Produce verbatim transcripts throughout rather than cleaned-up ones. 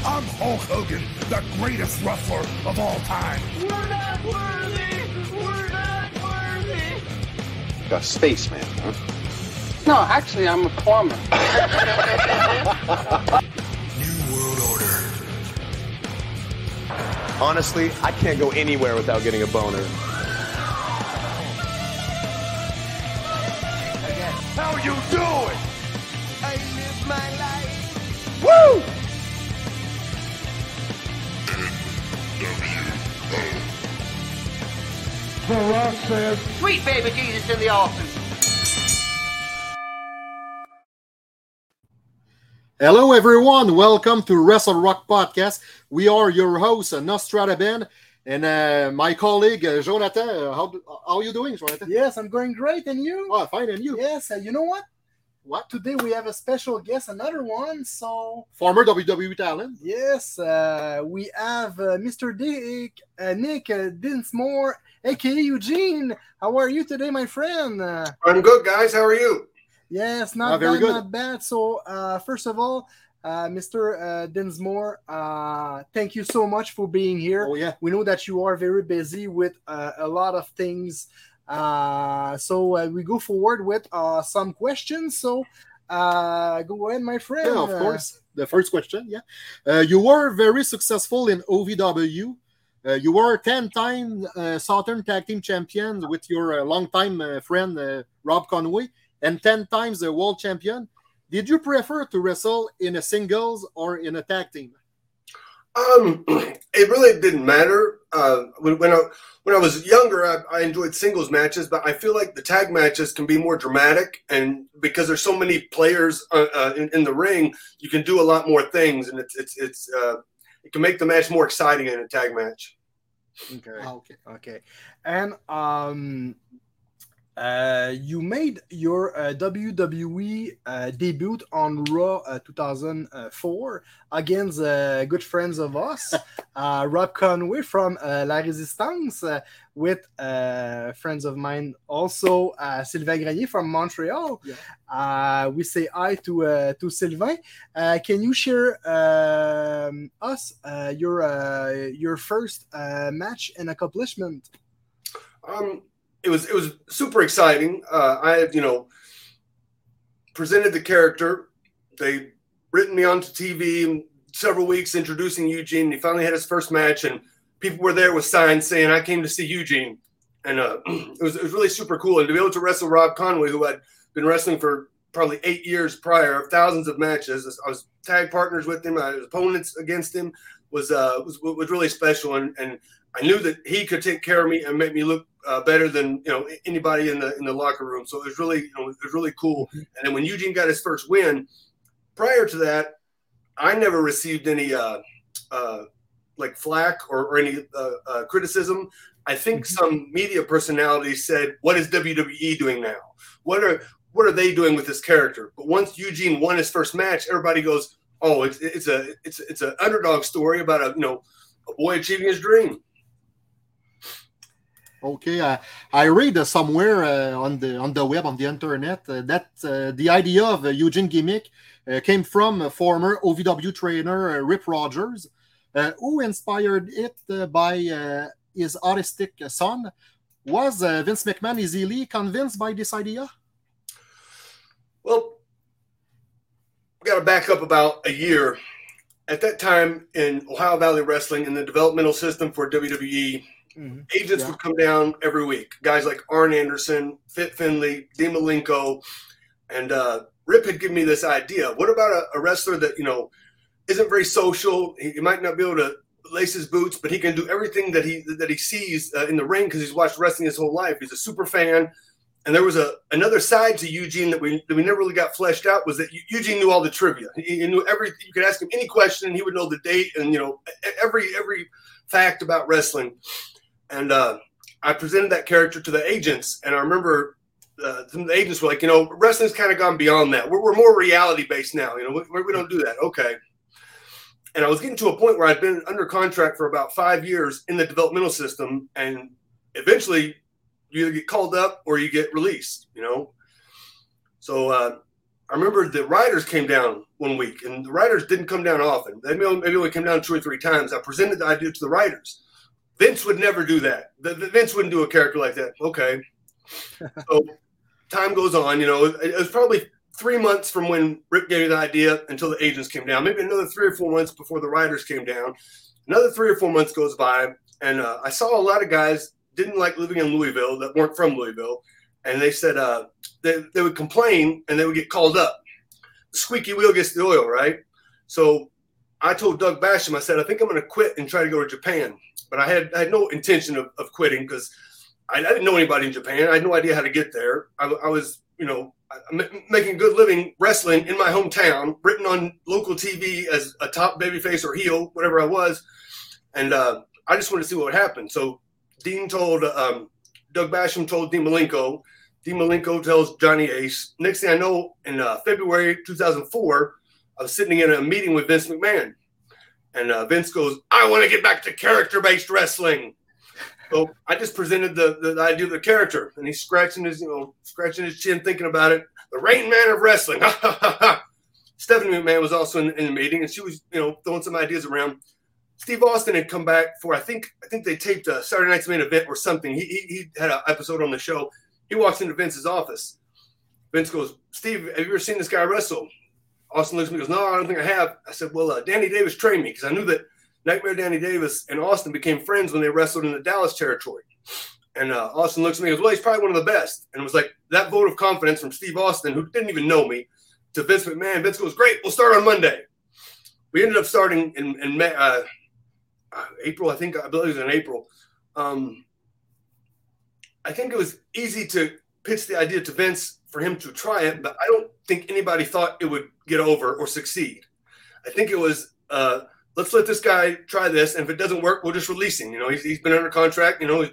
I'm Hulk Hogan, the greatest wrestler of all time. We're not worthy! We're not worthy! A spaceman, huh? No, actually, I'm a plumber. New World Order. Honestly, I can't go anywhere without getting a boner. How you doing? I live my life. Woo! The Rock says, Sweet baby Jesus in the offing. Hello, everyone. Welcome to Wrestle Rock Podcast. We are your hosts, Nostrada Ben, and uh, my colleague, uh, Jonathan. Uh, how, how are you doing, Jonathan? Yes, I'm going great. And you? Oh, fine. And you? Yes, uh, you know what? What? Today we have a special guest, another one. So, Former W W E talent. yes, uh, we have uh, Mister Dick, uh, Nick uh, Dinsmore, a k a. Eugene. How are you today, my friend? Uh, I'm good, guys. How are you? yes, not Ah, very bad, good. not bad. So, uh, first of all, uh, Mister Uh, Dinsmore, uh, thank you so much for being here. Oh, yeah. We know that you are very busy with uh, a lot of things. Uh, so uh, we go forward with uh, some questions. So uh, go ahead, my friend. Yeah, of Uh, course. The first question, yeah. Uh, you were very successful in O V W. Uh, you were ten-time uh, Southern Tag Team Champion with your uh, longtime uh, friend uh, Rob Conway, and ten times the World Champion. Did you prefer to wrestle in a singles or in a tag team? Um, it really didn't matter. Uh, when, when I when I was younger, I, I enjoyed singles matches, but I feel like the tag matches can be more dramatic, and because there's so many players uh, uh, in, in the ring, you can do a lot more things, and it's it's it's uh, it can make the match more exciting in a tag match. Okay. Ah, okay, okay. And um, uh, you made your uh, W W E uh, debut on Raw uh, two thousand four against uh, good friends of us, uh, Rob Conway from uh, La Résistance, uh, with uh, friends of mine also, uh, Sylvain Grenier from Montreal. Yeah. Uh, we say hi to uh, to Sylvain. Uh, can you share um, us uh, your uh, your first uh, match and accomplishment? Um, it was it was super exciting. Uh, I had you know presented the character. They written me onto T V in several weeks introducing Eugene. He finally had his first match, and people were there with signs saying, "I came to see Eugene," and uh, it was it was really super cool. And to be able to wrestle Rob Conway, who had been wrestling for probably eight years prior, thousands of matches. I was tag partners with him. I was opponents against him. Was uh was was really special, and and I knew that he could take care of me and make me look uh, better than you know anybody in the in the locker room. So it was really you know it was really cool. And then when Eugene got his first win, prior to that, I never received any uh, uh, like flack or, or any uh, uh, criticism. I think some media personalities said, "What is W W E doing now? What are what are they doing with this character?" But once Eugene won his first match, everybody goes, "Oh, it's it's a it's it's an underdog story about a you know a boy achieving his dream." Okay, uh, I read uh, somewhere uh, on the on the web on the internet uh, that uh, the idea of a Eugene gimmick uh, came from a former O V W trainer uh, Rip Rogers, uh, who inspired it uh, by uh, his autistic son. Was uh, Vince McMahon easily convinced by this idea? Well, we got to back up about a year. At that time in Ohio Valley Wrestling, in the developmental system for W W E, Mm-hmm. agents Yeah. would come down every week. Guys like Arn Anderson, Fit Finley, Dean Malenko, and uh, Rip had given me this idea. What about a, a wrestler that, you know, isn't very social? He, he might not be able to lace his boots, but he can do everything that he that he sees uh, in the ring because he's watched wrestling his whole life. He's a super fan. And there was a another side to Eugene that we that we never really got fleshed out, was that Eugene knew all the trivia. He, he knew every. You could ask him any question, and he would know the date and you know every every fact about wrestling. And uh, I presented that character to the agents, and I remember uh, some of the agents were like, you know, wrestling's kind of gone beyond that. We're, we're more reality based now. You know, we, we don't do that. Okay. And I was getting to a point where I'd been under contract for about five years in the developmental system, and eventually you either get called up or you get released, you know? So uh, I remember the writers came down one week, and the writers didn't come down often. They maybe only came down two or three times. I presented the idea to the writers. Vince would never do that. The, the Vince wouldn't do a character like that. Okay. So time goes on. You know, it, it was probably three months from when Rip gave me the idea until the agents came down. Maybe another three or four months before the writers came down. Another three or four months goes by, and uh, I saw a lot of guys didn't like living in Louisville that weren't from Louisville, and they said uh, they, they would complain and they would get called up. The squeaky wheel gets the oil, right? So I told Doug Basham, I said, I think I'm going to quit and try to go to Japan. But I had I had no intention of, of quitting because I, I didn't know anybody in Japan. I had no idea how to get there. I, I was, you know, making a good living wrestling in my hometown, written on local T V as a top babyface or heel, whatever I was. And uh, I just wanted to see what would happen. So Dean told, um, Doug Basham told Dean Malenko. Dean Malenko tells Johnny Ace. Next thing I know, in uh, February two thousand four, I was sitting in a meeting with Vince McMahon. And uh, Vince goes, I want to get back to character-based wrestling. So I just presented the, the, the idea of the character, and he's scratching his, you know, scratching his chin, thinking about it. The Rain Man of wrestling. Stephanie McMahon was also in, in the meeting, and she was, you know, throwing some ideas around. Steve Austin had come back for, I think, I think they taped a Saturday Night's Main Event or something. He he, he had an episode on the show. He walks into Vince's office. Vince goes, Steve, have you ever seen this guy wrestle? Austin looks at me and goes, no, I don't think I have. I said, well, uh, Danny Davis trained me because I knew that Nightmare Danny Davis and Austin became friends when they wrestled in the Dallas territory. And uh, Austin looks at me and goes, well, he's probably one of the best. And it was like that vote of confidence from Steve Austin, who didn't even know me, to Vince McMahon. Vince goes, great, we'll start on Monday. We ended up starting in, in May, uh, April, I think, I believe it was in April. Um, I think it was easy to pitch the idea to Vince for him to try it, but I don't think anybody thought it would get over or succeed. I think it was, uh, let's let this guy try this, and if it doesn't work, we'll just release him. You know, he's, he's been under contract. You know,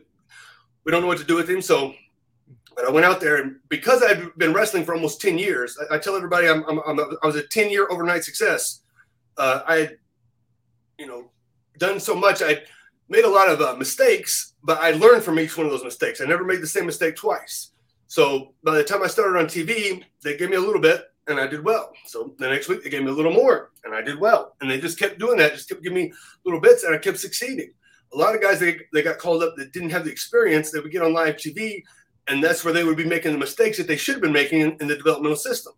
we don't know what to do with him. So, but I went out there, and because I've been wrestling for almost ten years, I, I tell everybody I'm, I'm, I'm a, I was a ten-year overnight success. Uh, I had, you know, done so much. I made a lot of uh, mistakes, but I learned from each one of those mistakes. I never made the same mistake twice. So by the time I started on T V, they gave me a little bit, and I did well. So the next week, they gave me a little more, and I did well. And they just kept doing that, just kept giving me little bits, and I kept succeeding. A lot of guys, they, they got called up that didn't have the experience. They would get on live T V, and that's where they would be making the mistakes that they should have been making in, in the developmental system.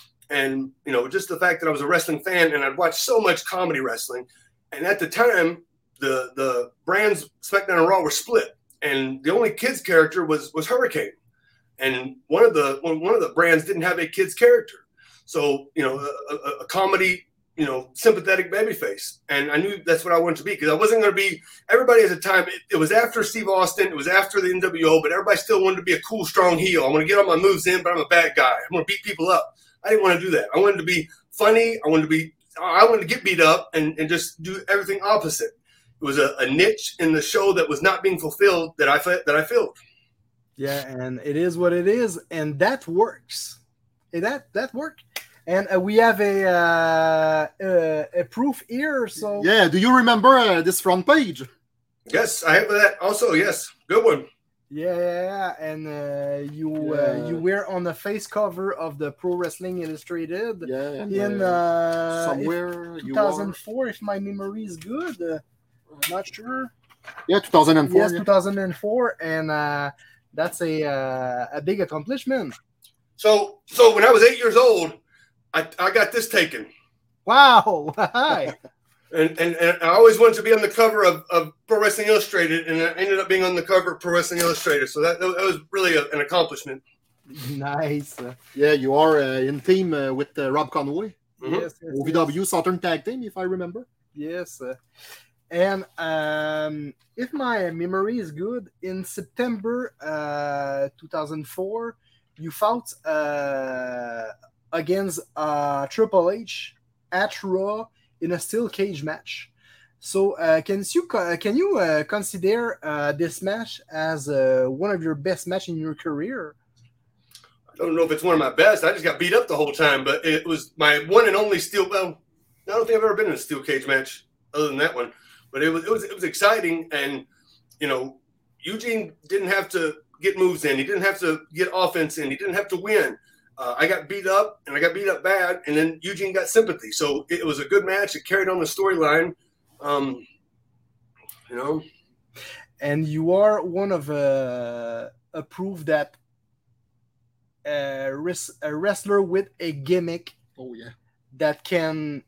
And, you know, just the fact that I was a wrestling fan, and I'd watched so much comedy wrestling. And at the time, the the brands SmackDown and Raw were split, and the only kids character was was Hurricane. And one of the one of the brands didn't have a kid's character, so you know a, a, a comedy, you know, sympathetic babyface. And I knew that's what I wanted to be because I wasn't going to be. Everybody at the time, it, it was after Steve Austin, it was after the N W O, but everybody still wanted to be a cool, strong heel. I want to get all my moves in, but I'm a bad guy. I'm going to beat people up. I didn't want to do that. I wanted to be funny. I wanted to be. I wanted to get beat up and, and just do everything opposite. It was a, a niche in the show that was not being fulfilled that I that I filled. Yeah, and it is what it is, and that works. That that worked, and uh, we have a uh, uh, a proof here. So yeah, do you remember uh, this front page? Yes, I have that also. Yes, good one. Yeah, yeah, yeah. and uh, you Yeah. uh, you were on the face cover of the Pro Wrestling Illustrated. Yeah, and, in uh, uh, somewhere if you two thousand four, if my memory is good. Uh, not sure. Yeah, two thousand four. Yes, yeah. two thousand four, and uh, that's a uh, a big accomplishment. So, so when I was eight years old, I, I got this taken, Wow! Hi. and, and and I always wanted to be on the cover of, of Pro Wrestling Illustrated, and I ended up being on the cover of Pro Wrestling Illustrated. So that that was really a, an accomplishment. Nice. Yeah, you are uh, in team uh, with uh, Rob Conway, Mhm. Yes, yes, O V W Southern Tag Team, if I remember. yes. Uh, and um, if my memory is good, in September uh, two thousand four, you fought uh, against uh, Triple H at Raw in a steel cage match. So, uh, can you co- can you uh, consider uh, this match as uh, one of your best matches in your career? I don't know if it's one of my best. I just got beat up the whole time, but it was my one and only steel. Well, I don't think I've ever been in a steel cage match other than that one. But it was it was it was exciting, and you know, Eugene didn't have to get moves in. He didn't have to get offense in. He didn't have to win. Uh, I got beat up, and I got beat up bad, and then Eugene got sympathy. So it was a good match. It carried on the storyline, um, you know. And you are one of uh, a proof that a, res- a wrestler with a gimmick. Oh yeah. That can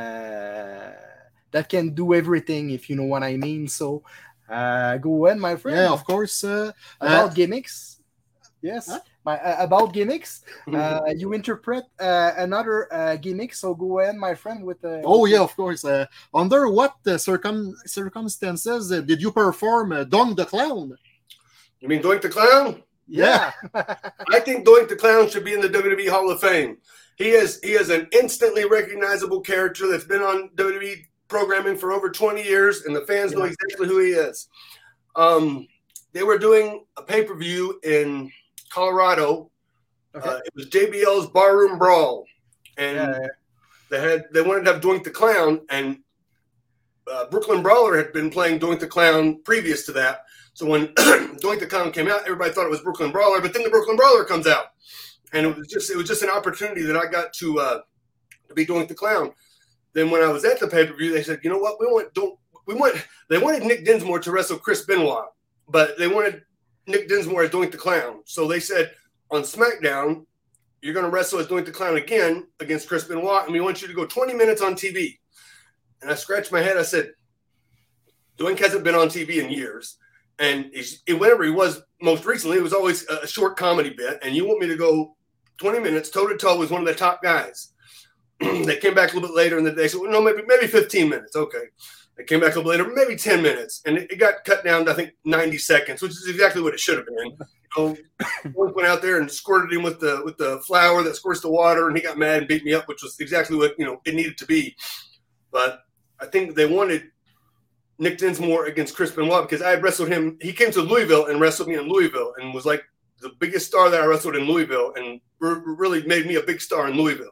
uh, that can do everything, if you know what I mean. So uh, go ahead, my friend. Yeah, of course. Uh, about uh, gimmicks. Yes. Huh? My, uh, about gimmicks. Uh, you interpret uh, another uh, gimmick. So go ahead, my friend. With uh, oh yeah, of course. Uh, under what uh, circum circumstances uh, did you perform uh, Doink the Clown? You mean Doink the Clown? Yeah. I think Doink the Clown should be in the W W E Hall of Fame. He is he is an instantly recognizable character that's been on W W E programming for over twenty years, and the fans yeah. know exactly who he is. Um, they were doing a pay-per-view in Colorado. Okay. Uh, it was J B L's Barroom Brawl, and yeah. they had they wanted to have Doink the Clown, and uh, Brooklyn Brawler had been playing Doink the Clown previous to that. So when Doink the Clown came out, everybody thought it was Brooklyn Brawler, but then the Brooklyn Brawler comes out. And it was just it was just an opportunity that I got to uh, to be Doink the Clown. Then when I was at the pay per view, they said, you know what, we want don't we want they wanted Nick Dinsmore to wrestle Chris Benoit, but they wanted Nick Dinsmore as Doink the Clown. So they said on SmackDown, you're going to wrestle as Doink the Clown again against Chris Benoit, and we want you to go twenty minutes on T V. And I scratched my head. I said, Doink hasn't been on T V in years, and he's, whenever he was most recently, it was always a short comedy bit, and you want me to go twenty minutes toe-to-toe with one of the top guys. They came back a little bit later in the day. They said, well, no, maybe maybe fifteen minutes. Okay. They came back a little later, maybe ten minutes. And it, it got cut down to, I think, ninety seconds, which is exactly what it should have been. You know, went out there and squirted him with the with the flour that squirts the water, and he got mad and beat me up, which was exactly what, you know, it needed to be. But I think they wanted Nick Dinsmore against Chris Benoit because I had wrestled him. He came to Louisville and wrestled me in Louisville and was like the biggest star that I wrestled in Louisville, and really made me a big star in Louisville.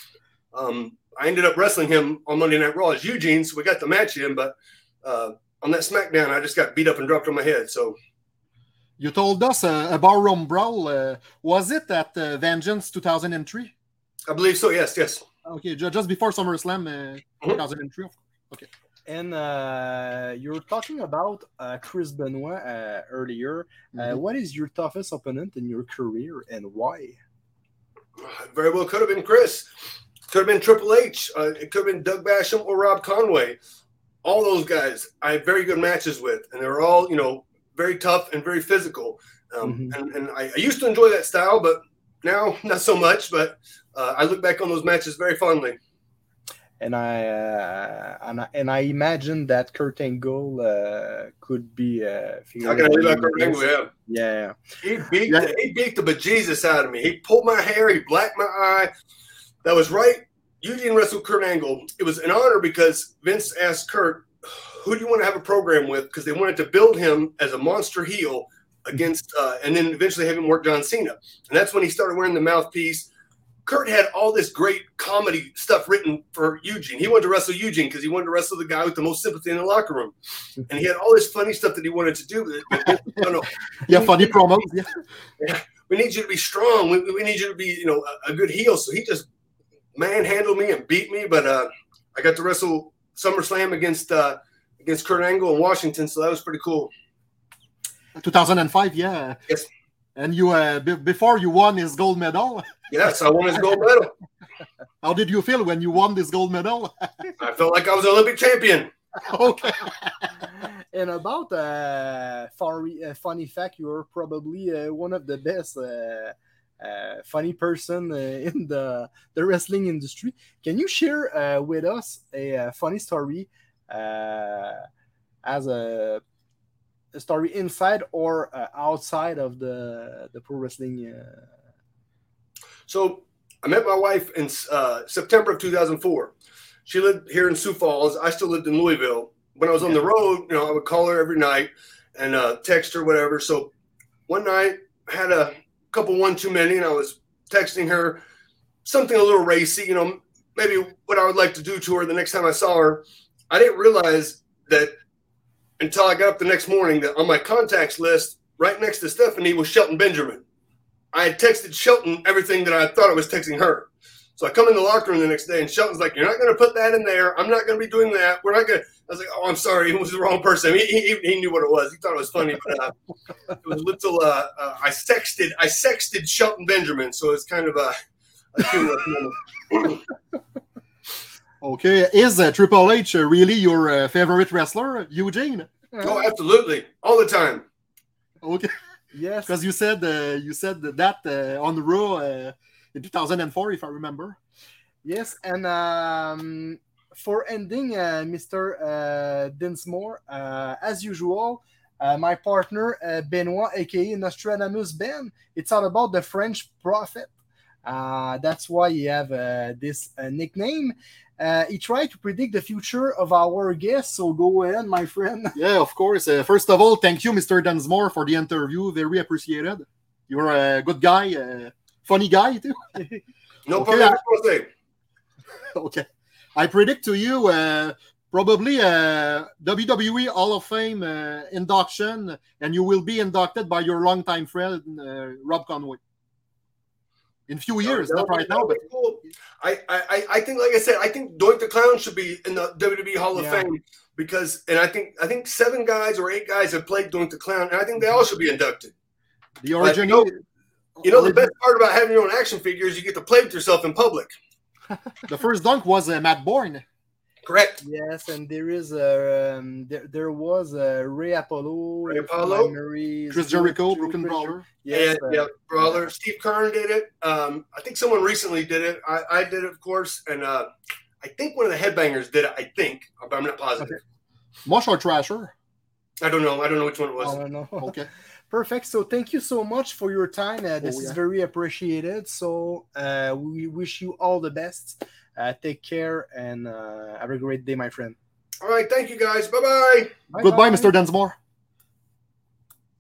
Um, I ended up wrestling him on Monday Night Raw as Eugene, so we got the match in, but uh, on that SmackDown, I just got beat up and dropped on my head. So, you told us uh, a barroom brawl. Uh, was it at uh, Vengeance two thousand three? I believe so, yes, yes. Okay, just before SummerSlam uh, mm-hmm. two thousand three. Okay. And uh, you're talking about uh, Chris Benoit uh, earlier. Uh, mm-hmm. What is your toughest opponent in your career and why? Very well could have been Chris. Could have been Triple H. Uh, it could have been Doug Basham or Rob Conway. All those guys I had very good matches with, and they were all, you know, very tough and very physical. Um, mm-hmm. And, and I, I used to enjoy that style, but now not so much. But uh, I look back on those matches very fondly. And I, uh, and I and I imagine that Kurt Angle uh, could be. Uh, How can I leave out Kurt Angle? Yeah, yeah. He beat yeah. the, he beat the bejesus out of me. He pulled my hair. He blacked my eye. That was right. Eugene wrestled Kurt Angle. It was an honor because Vince asked Kurt, "Who do you want to have a program with?" Because they wanted to build him as a monster heel against, uh, and then eventually have him work John Cena. And that's when he started wearing the mouthpiece. Kurt had all this great comedy stuff written for Eugene. He wanted to wrestle Eugene because he wanted to wrestle the guy with the most sympathy in the locker room. And he had all this funny stuff that he wanted to do. No, no. Yeah, funny promos. Yeah. yeah. We need you to be strong. We, we need you to be, you know, a, a good heel. So he just manhandled me and beat me. But uh, I got to wrestle SummerSlam against uh, against Kurt Angle in Washington. So that was pretty cool. two thousand five, yeah. Yes. And you, uh, b- before you won his gold medal. Yes, I won his gold medal. How did you feel when you won this gold medal? I felt like I was an Olympic champion. Okay. And about uh, funny, uh, funny fact, you're probably uh, one of the best uh, uh, funny person uh, in the the wrestling industry. Can you share uh, with us a, a funny story uh, as a a story inside or uh, outside of the the pro wrestling? Uh... So I met my wife in uh, September of two thousand four. She lived here in Sioux Falls. I still lived in Louisville. When I was on the road, you know, I would call her every night and uh, text her, whatever. So one night I had a couple one too many, and I was texting her something a little racy, you know, maybe what I would like to do to her the next time I saw her. I didn't realize that until I got up the next morning that on my contacts list, right next to Stephanie was Shelton Benjamin. I had texted Shelton everything that I thought I was texting her. So I come in the locker room the next day, and Shelton's like, "You're not going to put that in there. I'm not going to be doing that. We're not going to." I was like, "Oh, I'm sorry. It was the wrong person." He, he, he knew what it was. He thought it was funny, but uh, it was a little. Uh, uh, I sexted. I sexted Shelton Benjamin, so it's kind of a. a humorous moment. Okay, is uh, Triple H uh, really your uh, favorite wrestler, Eugene? Oh, absolutely, all the time. Okay. Yes. Because you said uh, you said that uh, on Raw uh, in two thousand four, if I remember. Yes, and um, for ending, uh, Mister Uh, Dinsmore, uh, as usual, uh, my partner uh, Benoit, aka Nostradamus Ben, it's all about the French prophet. Uh, that's why you have uh, this uh, nickname. Uh, he tried to predict the future of our guest, so go ahead, my friend. Yeah, of course. Uh, first of all, thank you, Mister Dunsmore, for the interview. Very appreciated. You're a good guy, uh, funny guy too. No Okay, problem. I, okay, I predict to you uh, probably a W W E Hall of Fame uh, induction, and you will be inducted by your longtime friend uh, Rob Conway. In a few years, no, not right no, now, but cool. I, I, I think, like I said, I think Doink the Clown should be in the W W E Hall of Yeah. Fame because, and I think, I think seven guys or eight guys have played Doink the Clown, and I think they all should be inducted. the But, origin. you know, you know the origin- best part about having your own action figure is you get to play with yourself in public. the first dunk was uh, Matt Bourne. Correct. Yes, and there is a um, there, there was a Ray Apollo, Ray if my Apollo? memory is Chris good, Jericho, Chris Broken Jericho. Brawler. Yes, yeah, uh, yeah, Brawler. Steve Kern did it. Um, I think someone recently did it. I, I did it, of course, and uh, I think one of the headbangers did it. I think, but I'm not positive. Mosh or Trasher. I don't know. I don't know which one it was. I don't know. Okay. Perfect. So thank you so much for your time. Uh, this Oh, is yeah. very appreciated. So uh, we wish you all the best. Uh, take care and uh, have a great day, my friend. All right, thank you guys. Bye bye. Goodbye, Mister Dunsmore.